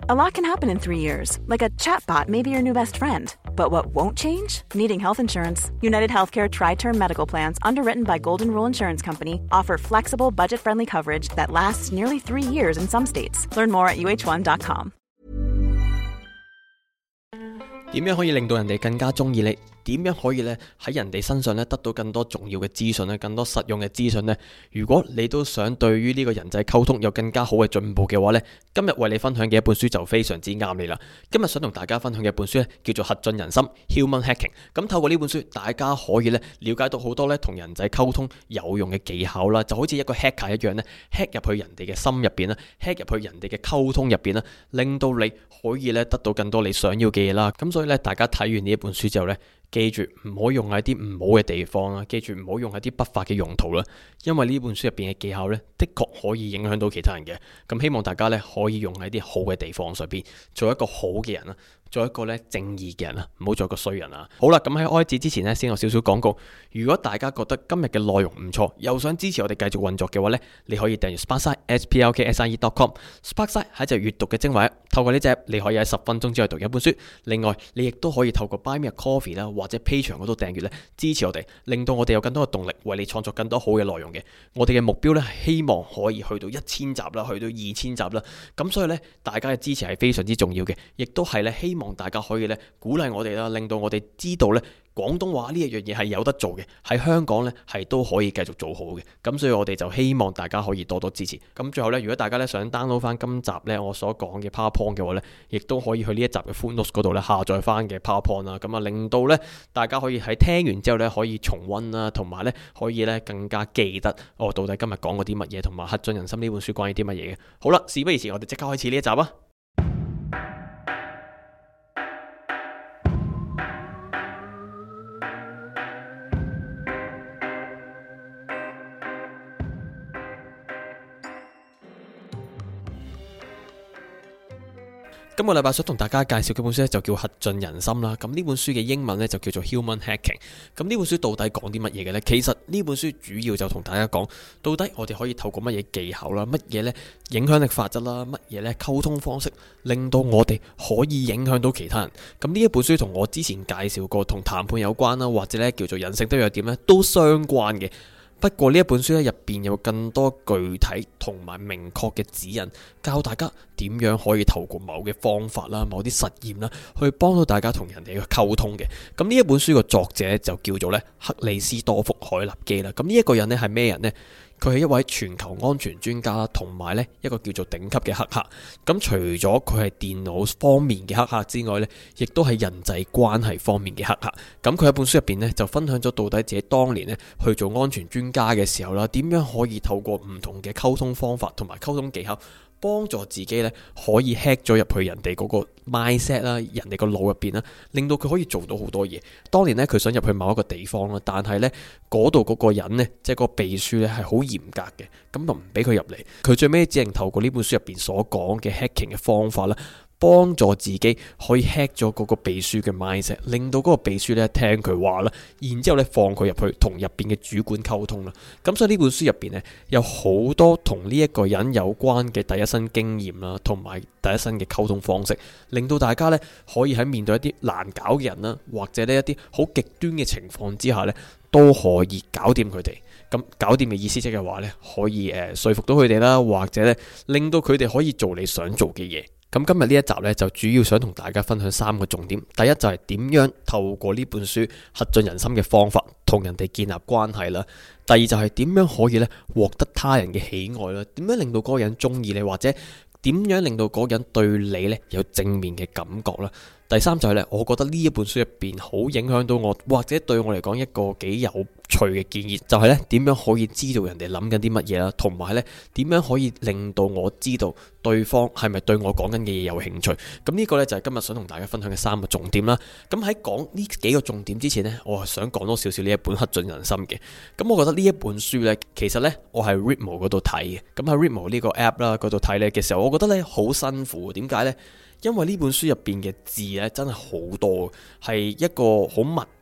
A lot can happen in 3 years, like a chatbot may be your new best friend. But what won't change? Needing health insurance. United Healthcare Tri-Term Medical Plans, underwritten by Golden Rule Insurance Company, offer flexible, budget-friendly coverage that lasts nearly 3 years in some states. Learn more at uh1.com. 點樣可以令到人哋更加中意你？點樣可以咧喺人哋身上咧得到更多重要嘅資訊咧，更多實用嘅資訊呢？如果你都想對於呢個人際溝通有更加好嘅進步嘅話呢，今日為你分享嘅一本書就非常之啱你啦。今日想同大家分享嘅一本書咧叫做《核盡人心 Human Hacking》。咁透過呢本書，大家可以咧了解到好多咧同人際溝通有用嘅技巧啦，就好似一個 hacker 一樣咧 hack 入去人哋嘅心入邊啦 ，hack 入去人哋嘅溝通入邊啦，令到你可以咧得到更多你想要嘅嘢啦。咁所以咧，大家睇完呢一本書之後咧，記住唔好用喺啲唔好嘅地方啦，記住唔好用喺啲不法嘅用途啦，因為呢本書入邊嘅技巧呢，的確可以影響到其他人嘅。咁希望大家呢，可以用喺啲好嘅地方上邊，做一個好嘅人啦，做一個呢正義嘅人啦，唔好做一個衰人啊。好啦，咁喺開始之前呢，先有少少廣告。如果大家覺得今日嘅內容唔錯，又想支持我哋繼續運作嘅話呢，你可以訂閱 Sparkside splkside.com。Sparkside 係一隻閱讀嘅精華，透過呢隻你可以喺10分鐘之內讀一本書。另外，你亦都可以透過 Buy Me a Coffee 啦，或者 Patreon 嗰度訂閱咧，支持我哋，令到我哋有更多嘅動力，為你創作更多好嘅內容嘅。我哋嘅目標咧，係希望可以去到1000集啦，去到2000集啦。咁所以咧，大家嘅支持係非常之重要嘅，亦都係咧希望大家可以咧鼓勵我哋啦，令到我哋知道咧廣東話呢一樣嘢係有得做嘅，喺香港咧係都可以繼續做好嘅。咁所以我哋就希望大家可以多多支持。咁最後咧，如果大家咧想 download 翻今集咧我所講嘅 PowerPoint 嘅話咧，亦都可以去呢一集嘅 Footnotes 嗰度咧下載翻嘅 PowerPoint 啦。咁啊，令到咧大家可以喺聽完之後咧可以重溫啦，同埋咧可以咧更加記得我到底今日講過啲乜嘢，同埋《核盡人心》呢本書關於啲乜嘢嘅。好啦，事不宜遲，我哋即刻開始呢一集啊！今個禮拜想同大家介紹嘅本書咧就叫《核盡人心》啦。咁呢本書嘅英文咧就叫做 Human Hacking。咁呢本書到底講啲乜嘢嘅呢？其實呢本書主要就同大家講，到底我哋可以透過乜嘢技巧啦，乜嘢呢影響力法則啦，乜嘢呢溝通方式，令到我哋可以影響到其他人。咁呢一本書同我之前介紹過同談判有關啦，或者呢叫做人性的弱點呢，都相關嘅。不過呢一本書咧入邊有更多具體同埋明確嘅指引，教大家點樣可以透過某嘅方法啦、某啲實驗啦，去幫到大家同人哋去溝通嘅。咁呢一本書個作者就叫做咧克里斯多福海納基啦。咁呢一個人咧係咩人呢？佢係一位全球安全專家啦，同埋咧一個叫做頂級嘅黑客。咁除咗佢係電腦方面嘅黑客之外咧，亦都係人際關係方面嘅黑客。咁佢喺本書入邊咧就分享咗到底自己當年咧去做安全專家嘅時候啦，點樣可以透過唔同嘅溝通方法同埋溝通技巧，幫助自己咧可以 hack 咗入去人哋嗰個 mindset 啦，人哋個腦入邊啦，令到佢可以做到好多嘢。當年咧佢想入去某一個地方啦，但係咧嗰度嗰個人咧，即係個秘書咧係好嚴格嘅，咁就唔俾佢入嚟。佢最尾只能透過呢本書入邊所講嘅 hacking 嘅方法啦，幫助自己可以 hack 咗嗰個秘書嘅 mindset， 令到嗰個秘書咧聽佢話啦，然之後咧放佢入去同入邊嘅主管溝通啦。咁所以呢本書入邊咧有好多同呢一個人有關嘅第一身經驗啦，同埋第一身嘅溝通方式，令到大家咧可以喺面對一啲難搞嘅人啦，或者呢一啲好極端嘅情況之下咧，都可以搞掂佢哋。咁搞掂嘅意思即係話咧，可以說服到佢哋啦，或者咧令到佢哋可以做你想做嘅嘢。咁今日呢一集呢，就主要想同大家分享3個重點。第一就係點樣透過呢本書核盡人心嘅方法，同人哋建立關係啦。第二就係點樣可以呢獲得他人嘅喜愛啦，點樣令到嗰個人中意你，或者點樣令到嗰個人對你呢有正面嘅感覺啦。第三就係咧，我覺得呢一本書入邊好影響到我，或者對我嚟講一個幾有趣嘅建議，就係咧點樣可以知道人哋諗緊啲乜嘢啦，同埋咧點樣可以令到我知道對方係咪對我講緊嘅嘢有興趣。咁呢個咧就係今日想同大家分享嘅3個重點啦。咁喺講呢幾個重點之前呢，我係想講多少少呢一本《核盡人心》嘅。咁我覺得呢一本書呢，其實呢，我係 Readmo 嗰度睇嘅。咁喺 Readmo 呢個 app 啦嗰度睇呢嘅時候，我覺得呢好辛苦。點解呢？因為呢本書入邊嘅字咧真係好多，係一個好密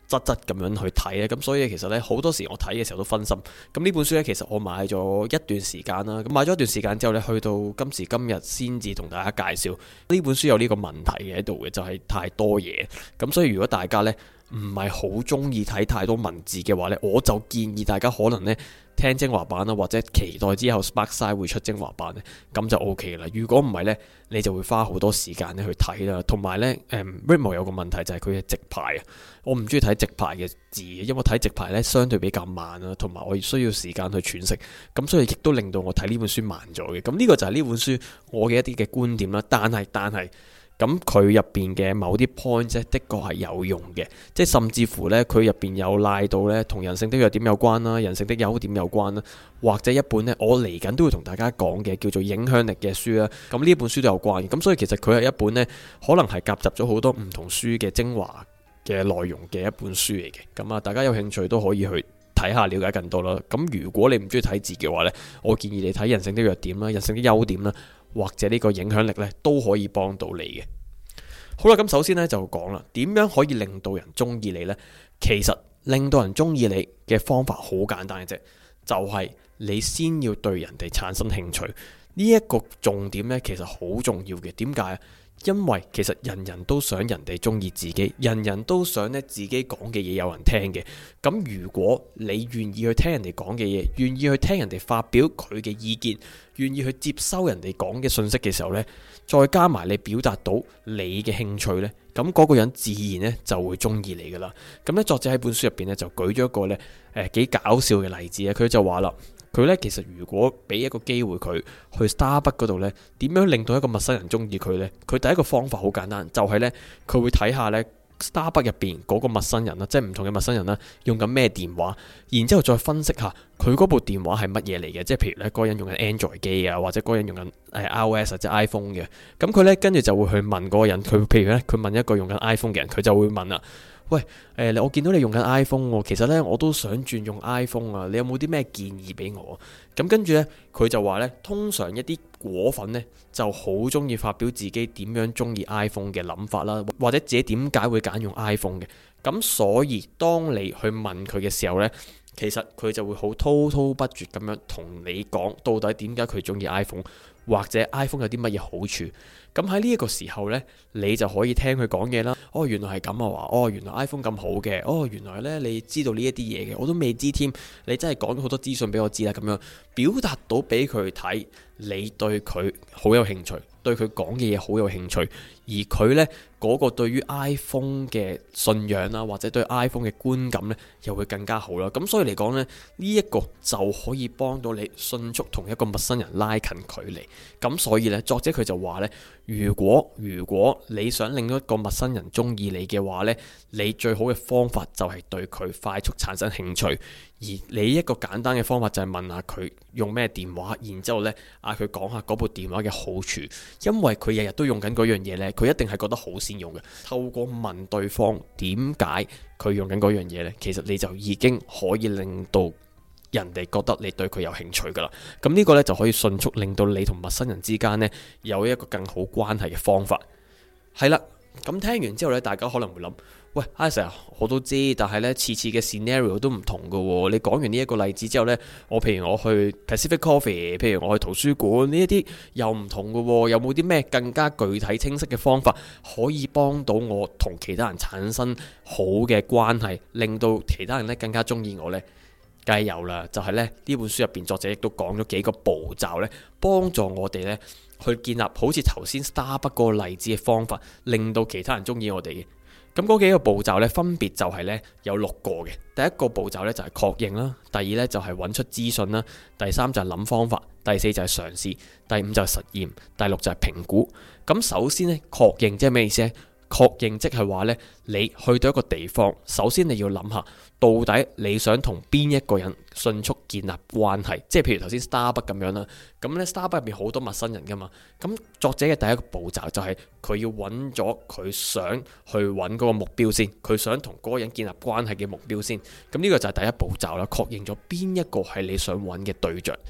質咁樣去睇咧，咁所以其實咧好多時我睇嘅時候都分心。咁呢本書咧其實我買咗一段時間啦，咁買咗一段時間之後咧，去到今時今日先至同大家介紹呢本書有呢個問題嘅喺度嘅，就係太多嘢。咁所以如果大家咧唔係好中意睇太多文字嘅話咧，我就建議大家可能咧聽精華版啦，或者期待之後 Sparkside 會出精華版咧，咁就 OK 啦。如果唔係咧，你就會花好多時間咧去睇啦。同埋咧，Ritmo 有個問題就係佢嘅直排啊，我唔中意睇直排嘅字，因為睇直排咧相對比較慢啦，同埋我需要時間去詮釋，咁所以亦都令到我睇呢本書慢咗嘅。咁呢個就係呢本書我嘅一啲嘅觀點啦。但係咁佢入邊嘅某啲 point 咧，的確係有用嘅，即係甚至乎呢，佢入邊有賴到呢同人性的弱點有關啦，人性的優點有關啦，或者一本呢，我嚟緊都會同大家講嘅叫做影響力嘅書啦。咁呢本書都有關嘅，咁所以其實佢係一本呢，可能係夾雜咗好多唔同書嘅精華嘅內容嘅一本書嚟嘅。咁啊，大家有興趣都可以去睇下，了解更多啦。咁如果你唔中意睇字嘅話呢，我建議你睇人性的弱點啦，人性的優點啦，或者呢個影響力呢，都可以幫到你嘅。好啦，咁首先呢，就講啦，點樣可以令到人中意你呢？其實令到人中意你嘅方法好簡單嘅啫，就係你先要對人哋產生興趣。呢一個重點呢，其實好重要嘅。點解啊？因為其實人人都想人哋中意自己，人人都想咧自己講嘅嘢有人聽嘅。咁如果你願意去聽人哋講嘅嘢，願意去聽人哋發表佢嘅意見，願意去接收人哋講嘅信息嘅時候呢，再加埋你表達到你嘅興趣呢，咁嗰個人自然呢就會中意你噶啦。咁呢，作者喺本書入邊呢，就舉咗一個呢幾搞笑嘅例子啊，佢就話啦。佢咧其實如果俾一個機會佢去 Starbucks 嗰度呢，點樣令到一個陌生人中意佢呢？佢第一個方法好簡單，就係呢，佢會睇下呢 Starbucks 入邊嗰個陌生人啦，即係唔同嘅陌生人啦，用緊咩電話，然之後再分析下佢嗰部電話係乜嘢嚟嘅，即係譬如呢嗰個人用緊 Android 機啊，或者嗰個人用緊iOS 或者 iPhone 嘅，咁佢呢跟住就會去問嗰個人，佢譬如呢，佢問一個用緊 iPhone 嘅人，佢就會問啦。喂，我見到你用緊 iPhone 喎，其實呢，我都想轉用 iPhone 啊，你有冇啲咩建議俾我？咁跟住呢，佢就話呢，通常一啲果粉呢就好中意發表自己點樣中意 iPhone 嘅諗法啦，或者自己點解會揀用 iPhone 嘅。咁所以當你去問佢嘅時候呢，其實佢就會好滔滔不絕咁樣同你講到底點解佢中意 iPhone，或者 iPhone 有啲乜嘢好處。咁喺呢一個時候呢，你就可以聽佢講嘢啦。哦，原來係咁啊！話哦，原來 iPhone 咁好嘅。哦，原來呢，你知道呢一啲嘢嘅，我都未知添。你真係講咗好多資訊俾我知啦。咁樣表達到俾佢睇，你對佢好有興趣，對佢講嘅嘢好有興趣，而佢呢嗰個對於 iPhone 嘅信仰啦，或者對 iPhone 嘅觀感呢，又會更加好啦。咁所以嚟講呢，呢一個就可以幫到你迅速同一個陌生人拉近距離。咁所以呢，作者佢就話呢，如果你想令到一個陌生人中意你嘅話呢，你最好嘅方法就係對佢快速產生興趣。而你一個簡單嘅方法就係問下佢用咩電話，然之後呢嗌佢講下嗰部電話嘅好處，因為佢日日都用緊嗰樣嘢呢，佢一定係覺得好先用嘅。透過問對方點解佢用緊嗰樣嘢呢，其實你就已經可以令到人哋覺得你對佢有興趣噶啦。咁呢個呢，就可以迅速令到你同陌生人之間呢有一個更好關係嘅方法。係啦，咁聽完之後呢，大家可能會諗，喂，Isaac，我都知，但係呢次次嘅 scenario 都唔同噶喎。你講完呢一個例子之後呢，譬如我去 Pacific Coffee， 譬如我去圖書館，呢一啲又唔同噶喎。有冇啲咩更加具體清晰嘅方法可以幫到我同其他人產生好嘅關係，令到其他人呢更加中意我呢？梗係有啦，就係呢本書入邊作者亦都講咗幾個步驟呢，幫助我哋呢去建立好似頭先 Starbucks 嗰個例子嘅方法，令到其他人中意我哋嘅。咁嗰幾個步驟呢，分別就係呢有6個嘅。第一個步驟呢就係確認啦，第二呢就係揾出資訊啦，第三就係諗方法，第四就係嘗試，第五就係實驗，第6就係評估。咁首先呢，確認即係咩意思呢？確認即係話呢，你去到一個地方，首先你要諗下，到底你想同邊一個人迅速建立關係，即係譬如頭先 Starbucks 咁樣啦。咁呢 Starbucks 入邊好多陌生人噶嘛。咁作者嘅第一個步驟就係佢要揾咗佢想去揾嗰個目標先，佢想同嗰個人建立關係嘅目標先。咁呢個就係第一步驟啦，確認咗邊一個係你想揾嘅對象。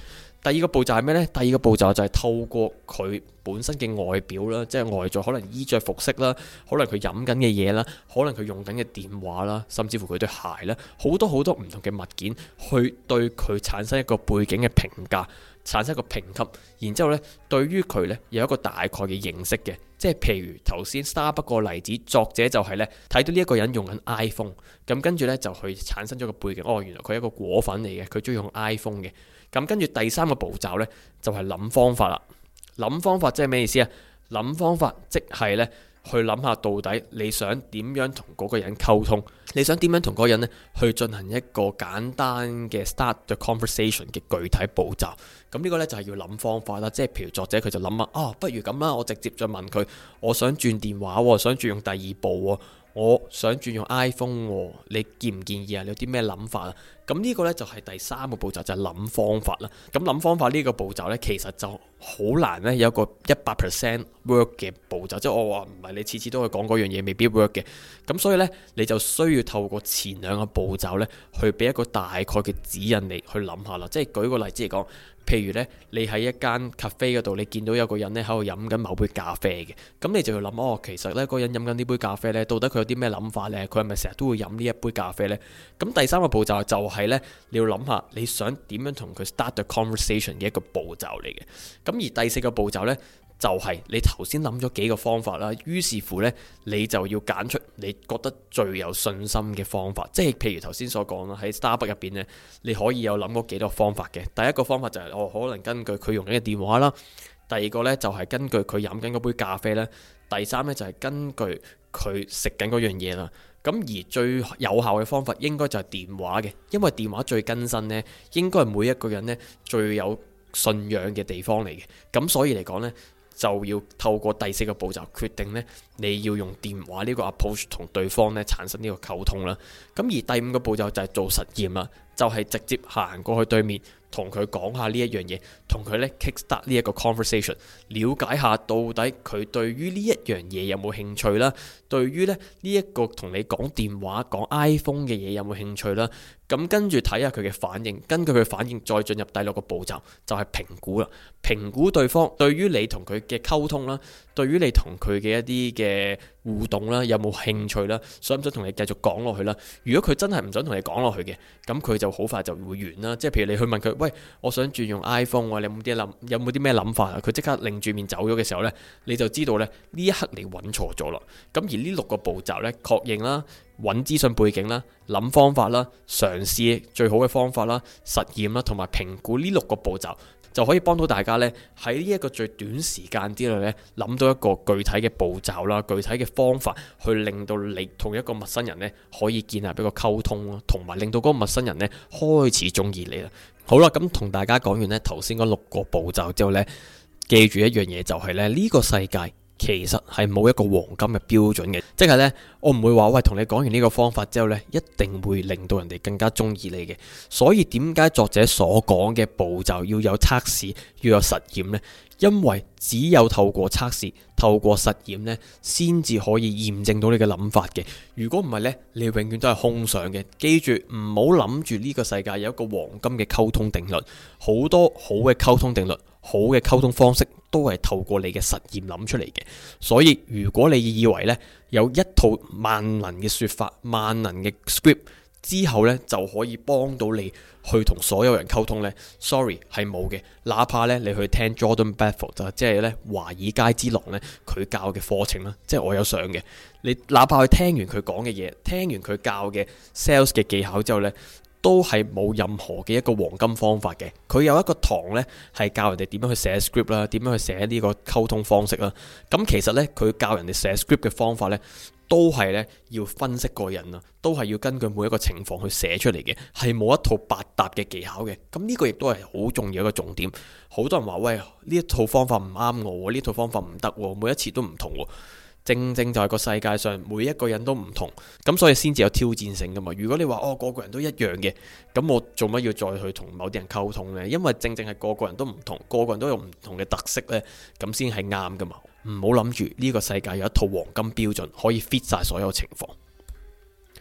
第二個步驟係咩呢？第二個步驟就係透過佢本身嘅外表啦，即係外在可能衣着服飾啦，可能佢飲緊嘅嘢啦，可能佢用緊嘅電話啦，甚至乎佢對鞋啦，好多好多唔同嘅物件去對佢產生一個背景嘅評價，產生一個評級，然之後呢，對於佢呢有一個大概嘅認識嘅。即係譬如頭先 Starbucks 個例子，作者就係呢睇到呢一個人用緊 iPhone， 咁跟住呢就去產生咗個背景，原來佢係一個果粉嚟嘅，佢中意用 iPhone 嘅。咁跟住第三個步驟呢，就係諗方法啦。諗方法即係咩意思啊？諗方法即係呢，去諗下到底你想點樣同嗰個人溝通，你想點樣同嗰個人呢去進行一個簡單嘅 start the conversation 嘅具體步驟。咁呢個呢，就係要諗方法啦。即係譬如作者佢就諗啊，不如咁啦，我直接就問佢，我想轉電話，想轉用第二部，我想轉用 iPhone，你建唔建議啊？你有啲咩諗法啊？咁呢個呢，就係第三個步驟，就係諗方法啦。咁諗方法呢個步驟呢，其實就好難呢，有一個100% work 嘅步驟，即係我話唔係你次次都去講嗰樣嘢未必 work 嘅。咁所以呢，你就需要透過前兩個步驟呢，去俾一個大概嘅指引你去諗下啦。即係舉個例子嚟講，譬如呢，你喺一間 cafe 嗰度，你見到有個人呢喺度飲緊某杯咖啡嘅，咁你就要諗其實呢嗰個人飲緊呢杯咖啡呢，到底佢有啲咩諗法呢？佢係咪成日都會飲呢一杯咖啡呢？咁第三個步驟就係呢，你要諗下你想點樣同佢 start the conversation 嘅一個步驟嚟嘅。咁而第四個步驟呢，就係你頭先諗咗幾個方法啦，於是乎呢，你就要揀出你覺得最有信心嘅方法。即係譬如頭先所講啦，喺 Starbucks 入邊呢，你可以有諗過幾多方法嘅。第一個方法就係可能根據佢用緊嘅電話啦，第二個呢，就係根據佢飲緊嗰杯咖啡啦，第三呢，就係根據佢食緊嗰樣嘢啦。咁而最有效嘅方法應該就係電話嘅，因為電話最更新呢，應該係每一個人呢最有信仰嘅地方嚟嘅。咁所以嚟講呢，就要透過第四個步驟決定呢，你要用電話呢個 approach 同對方呢產生呢個溝通啦。咁而第五個步驟就係做實驗啦，就係直接行過去對面，同佢講下呢一樣嘢，同佢呢 kickstart 呢一個 conversation， 了解下到底佢對於呢一樣嘢有冇興趣啦，對於呢一個同你講電話講 iPhone 嘅嘢有冇興趣啦。咁跟住睇下佢嘅反應，根據佢反應再進入第六個步驟，就係評估啦。評估對方對於你同佢嘅溝通啦，對於你同佢嘅一啲嘅互動啦，有冇興趣啦，想唔想同你繼續講落去啦？如果佢真係唔想同你講落去嘅，咁佢就好快就會完啦。即係譬如你去問佢，喂，我想轉用 iPhone，你有冇啲咩諗法啊？佢即刻擰住面走咗嘅時候呢，你就知道呢一刻你揾錯咗啦。咁而呢六個步驟呢，確認啦，揾資訊背景啦，諗方法啦，嘗試最好嘅方法啦，實驗啦，同埋評估呢六個步驟，就可以幫到大家呢喺呢一個最短時間之內呢，諗到一個具體嘅步驟啦，具體嘅方法，去令到你同一個陌生人呢可以建立一個溝通咯，同埋令到嗰個陌生人呢開始中意你啦。好啦，咁同大家講完呢頭先嗰六個步驟之後呢，記住一樣嘢就係呢個世界其實係冇一個黃金嘅標準嘅，即係呢，我唔會話喂，同你講完呢個方法之後呢，一定會令到人哋更加中意你嘅。所以點解作者所講嘅步驟要有測試，要有實驗呢？因為只有透過測試、透過實驗呢，先至可以驗證到你嘅諗法嘅。如果唔係呢，你永遠都係空想嘅。記住唔好諗住呢個世界有一個黃金嘅溝通定律，好多好嘅溝通定律、好嘅溝通方式都係透過你嘅實驗諗出嚟嘅。所以如果你以為呢有一套萬能嘅說法、萬能嘅 script 之後呢就可以幫到你去同所有人溝通呢， sorry 係冇嘅。哪怕呢你去聽 Jordan Belfort 即係呢華爾街之狼呢佢教嘅課程啦，即係我有上嘅。你哪怕去聽完佢講嘅嘢，聽完佢教嘅 sales 嘅技巧之後呢，都係冇任何嘅一個黃金方法嘅。佢有一個堂呢係教人哋點樣去寫 script 啦，點樣去寫呢個溝通方式啦。咁其實呢，佢教人哋寫 script 嘅方法呢，都係呢要分析個人啊，都係要根據每一個情況去寫出嚟嘅，係冇一套百搭嘅技巧嘅。咁呢個亦都係好重要一個重點。好多人話喂，呢一套方法唔啱我，呢套方法唔得，每一次都唔同。正正就係個世界上每一個人都唔同，咁所以先至有挑戰性噶嘛。如果你話個個人都一樣嘅，咁我做乜要再去同某啲人溝通呢？因為正正係個個人都唔同，個個人都有唔同嘅特色呢，咁先係啱噶嘛。唔好諗住呢個世界有一套黃金標準可以 fit 晒所有情況。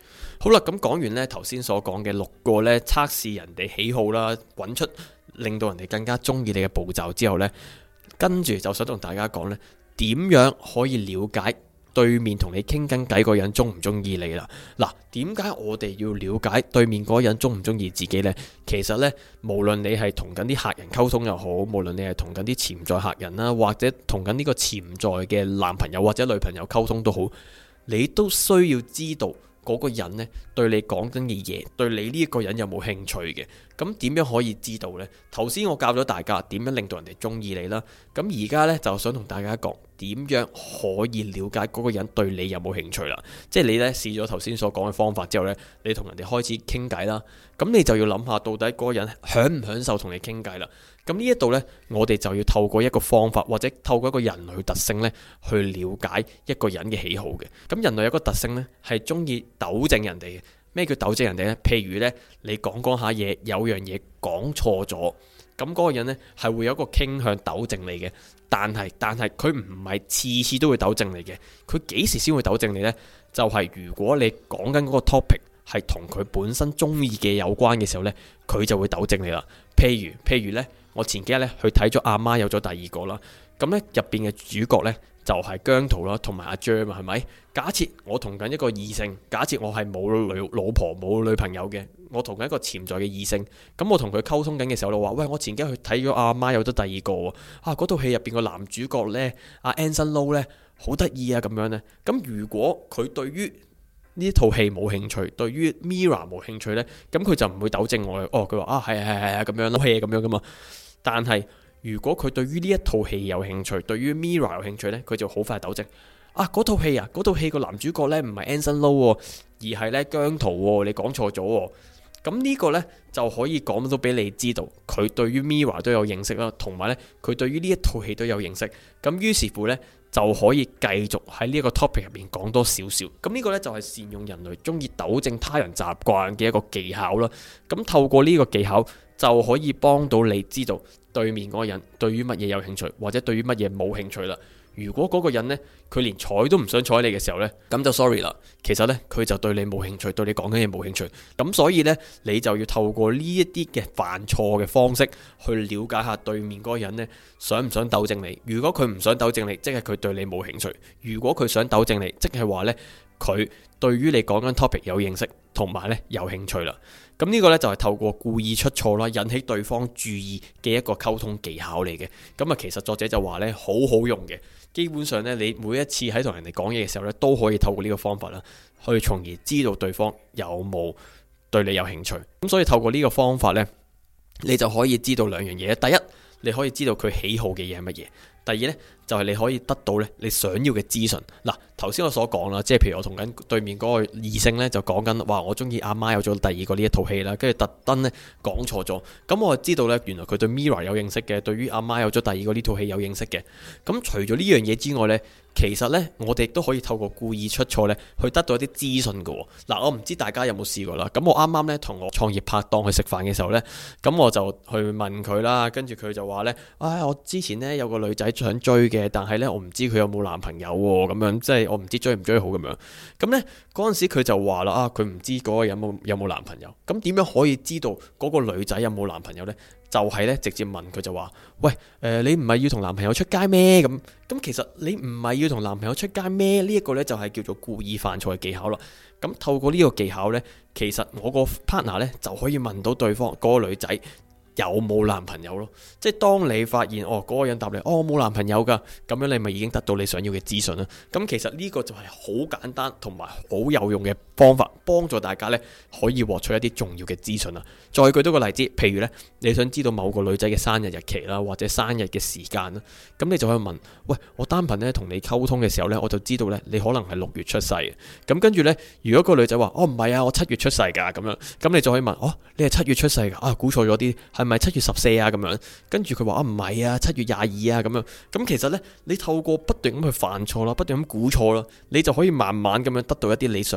好啦，咁講完呢頭先所講嘅6個呢測試人哋喜好啦，揾出令到人哋更加中意你嘅步驟之後呢，跟住就想同大家講呢，點樣可以了解對面同你傾緊偈嗰人中唔中意你啦？嗱，點解我哋要了解對面嗰人中唔中意自己呢？其實呢，無論你係同緊啲客人溝通又好，無論你係同緊啲潛在客人啦，或者同緊呢個潛在嘅男朋友或者女朋友溝通都好，你都需要知道嗰個人呢對你講緊嘅嘢，對你呢一個人有冇興趣嘅？咁點樣可以知道呢？頭先我教咗大家點樣令到人哋中意你啦，咁而家呢，就想同大家講點樣可以了解嗰個人對你有冇興趣啦。即係你呢試咗頭先所講嘅方法之後呢，你同人哋開始傾偈啦，咁你就要諗下到底嗰個人享唔享受同你傾偈啦。咁呢一度呢，我哋就要透過一個方法或者透過一個人類特性呢，去了解一個人嘅喜好嘅。咁人類有個特性呢，係中意糾正人哋嘅。咩叫糾正人哋呢？譬如呢，你講下嘢，有樣嘢講錯咗，咁嗰個人呢係會有一個傾向糾正你嘅。但係佢唔係次次都會糾正你嘅。佢幾時先會糾正你呢？就係如果你講緊嗰個 topic 係同佢本身中意嘅有關嘅時候呢，佢就會糾正你啦。譬如呢，我前幾日呢去睇咗阿媽有咗第二個啦，咁呢入邊嘅主角呢，就係姜濤啦，同埋阿 Jer 嘛，係咪？假設我同緊一個異性，假設我係冇老婆冇女朋友嘅，我同緊一個潛在嘅異性，咁我同佢溝通緊嘅時候，我話喂，我前幾日去睇咗阿媽有咗第二個喎，嗰套戲入邊個男主角呢，阿 Anson Lo 呢，好得意啊咁樣呢。咁如果佢對於呢套戲冇興趣，對於 Mirror 冇興趣呢，咁佢就唔會糾正我嘅。佢話係咁樣咯，戲咁樣噶嘛。但係如果佢對於呢一套戲有興趣，對於 Mirror 有興趣呢，佢就好快糾正。嗰套戲個男主角呢，唔係 Anson Lo，而係呢姜濤，你講錯咗。咁呢個呢，就可以講到俾你知道，佢對於 Mirror 都有認識啦，同埋呢，佢對於呢一套戲都有認識。咁於是乎呢，就可以繼續喺呢一個 topic 入面講多少少。咁呢個呢，就係善用人類中意糾正他人習慣嘅一個技巧啦。咁透過呢個技巧，就可以幫到你知道對面嗰個人對於乜嘢有興趣，或者對於乜嘢冇興趣啦。如果嗰個人呢，佢連睬都唔想睬你嘅時候呢，咁就 sorry 啦。其實呢，佢就對你冇興趣，對你講緊嘢冇興趣。咁所以呢，你就要透過呢一啲嘅犯錯嘅方式去了解下對面嗰個人呢，想唔想糾正你。如果佢唔想糾正你，即係佢對你冇興趣；如果佢想糾正你，即係話呢，佢對於你講緊 topic 有認識，同埋呢有興趣啦。咁呢個呢，就係透過故意出錯啦，引起對方注意嘅一個溝通技巧嚟嘅。咁啊，其實作者就話呢，好好用嘅。基本上呢，你每一次喺同人哋講嘢嘅時候呢，都可以透過呢個方法啦，去從而知道對方有冇對你有興趣。咁所以透過呢個方法呢，你就可以知道兩樣嘢。第一，你可以知道佢喜好嘅嘢係乜嘢。第二呢，就係你可以得到呢你想要嘅資訊。嗱，頭先我所講啦，即係譬如我同緊對面嗰個異性呢，就講緊話我中意阿媽有咗第二個呢一套戲啦，跟住特登呢講錯咗。咁我就知道呢，原來佢對 Mirror 有認識嘅，對於阿媽有咗第二個呢套戲有認識嘅。咁除咗呢樣嘢之外呢，其實呢，我哋亦都可以透過故意出錯呢去得到一啲資訊嘅。嗱，我唔知大家有冇試過啦。咁我啱啱呢同我創業拍檔去食飯嘅時候呢，咁我就去問佢啦，跟住佢就話呢：我之前呢有個女仔想追嘅，但係呢，我唔知佢有冇男朋友喎，咁樣即係我唔知追唔追好咁樣。咁呢嗰陣時佢就話啦，佢唔知嗰個人有冇男朋友。咁點樣可以知道嗰個女仔有冇男朋友呢？就係呢，直接問佢就話：喂，你唔係要同男朋友出街咩？咁其實你唔係要同男朋友出街咩？呢一個呢，就係叫做故意犯錯嘅技巧啦。咁透過呢個技巧呢，其實我個 partner 呢，就可以問到對方嗰個女仔有冇男朋友咯。即係當你發現嗰個人答你我冇男朋友噶，咁樣你咪已經得到你想要嘅資訊啦。咁其實呢個就係好簡單同埋好有用嘅方法，幫助大家呢可以獲取一啲重要嘅資訊啦。再舉多個例子，譬如呢，你想知道某個女仔嘅生日日期啦，或者生日嘅時間啦，咁你就可以問：喂，我單憑呢同你溝通嘅時候呢，我就知道呢你可能係6月出世嘅。咁跟住呢，如果個女仔話：唔係啊，我7月出世噶，咁樣，咁你就可以問：你係7月出世噶？估錯咗啲，係咪7月14啊？咁樣，跟住佢話：唔係啊，7月22啊，咁樣。咁其實呢，你透過不斷咁去犯錯啦，不斷咁估錯啦，你就可以慢慢咁樣得到一啲你想要嘅資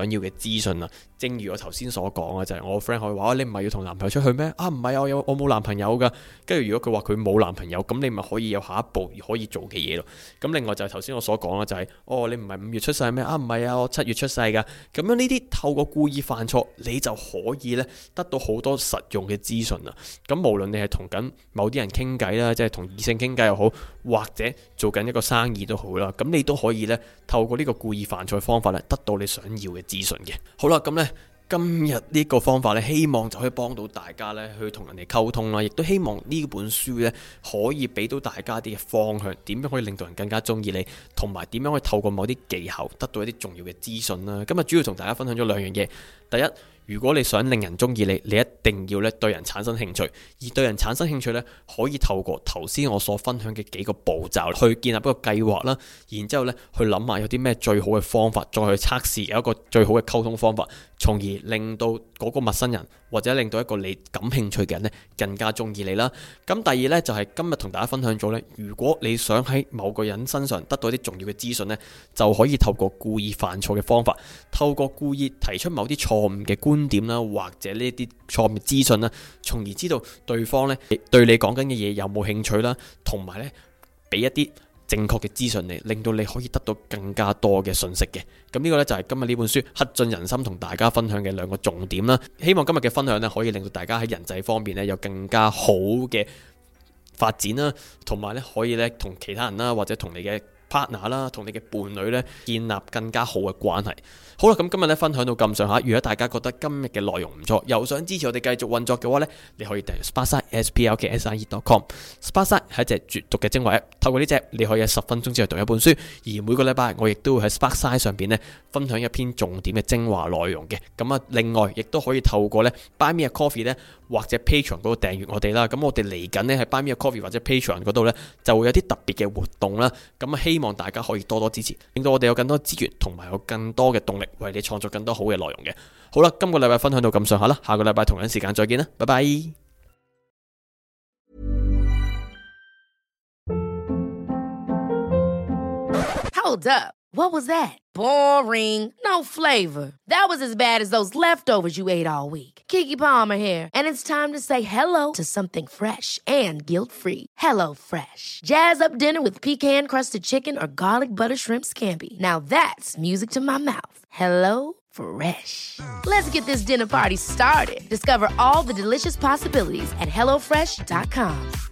資訊啦。正如我頭先所講嘅，就係我 friend 可以話你唔係要同男朋友出去咩？唔係啊，我冇男朋友噶。跟住如果佢話佢冇男朋友，咁你咪可以有下一步可以做嘅嘢咯。咁另外就係頭先我所講啦，就係你唔係5月出世咩？唔係啊，我7月出世噶。咁樣呢啲透過故意犯錯，你就可以咧得到好多實用嘅資訊啦。咁無論你係同緊某啲人傾偈啦，即係同異性傾偈又好，或者做緊一個生意都好啦，咁你都可以咧透過呢個故意犯錯嘅方法咧，得到你想要嘅資訊嘅。好啦，咁咧今日呢個方法咧，希望就可以幫到大家咧去同人哋溝通啦，亦都希望呢本書咧可以俾到大家啲嘅方向，點樣可以令到人更加中意你，同埋點樣可以透過某啲技巧得到一啲重要嘅資訊啦。今日主要同大家分享咗2樣嘢，第一，如果你想令人中意你，你一定要咧對人產生興趣，而對人產生興趣咧，可以透過頭先我所分享嘅幾個步驟去建立一個計劃啦，然之後咧去諗下有啲咩最好嘅方法，再去測試有一個最好嘅溝通方法，從而令到嗰個陌生人或者令到一個你感興趣嘅人咧更加中意你啦。咁第二咧就係今日同大家分享咗咧，如果你想喺某個人身上得到一啲重要嘅資訊咧，就可以透過故意犯錯嘅方法，透過故意提出某啲錯誤嘅觀點啦，或者呢啲錯誤資訊啦，從而知道對方咧對你講緊嘅嘢有冇興趣啦，同埋咧俾一啲正確嘅資訊你，令到你可以得到更加多嘅信息嘅。咁呢個咧就係今日呢本書刻進人心同大家分享嘅2個重點啦。希望今日嘅分享咧可以令到大家喺人際方面咧有更加好嘅發展啦，同埋咧可以咧同其他人啦，或者同你嘅partner 啦，同你嘅伴侶咧建立更加好嘅關係。好啦，咁今日咧分享到咁上下，如果大家覺得今日嘅內容唔錯，又想支持我哋繼續運作嘅話咧，你可以訂閱 Sparkside sparkside.com。 Sparkside 係一隻絕讀嘅精華 app， 透過呢隻你可以喺10分鐘之內讀一本書，而每個禮拜我亦都會喺 Sparkside 上邊咧分享一篇重點嘅精華內容嘅。咁啊，另外亦都可以透過咧 Buy Me a Coffee 咧或者 Patreon 嗰度訂閱我哋啦。咁我哋嚟緊咧喺 Buy Me a Coffee 或者 Patreon 嗰度咧就會有啲特別嘅活動啦。咁啊，希望大家可以多多支持，令到我哋有更多資源同埋有更多嘅動力，為你創作更多好嘅內容嘅。好啦，今個禮拜分享到咁上下啦，下個禮拜同樣時間再見啦，拜拜。 Hold up. What was that? Boring. No flavor. That was as bad as those leftovers you ate all week. Keke Palmer here, and it's time to say hello to something fresh and guilt-free. Hello Fresh. Jazz up dinner with pecan-crusted chicken or garlic butter shrimp scampi. Now that's music to my mouth. Hello Fresh. Let's get this dinner party started. Discover all the delicious possibilities at HelloFresh.com.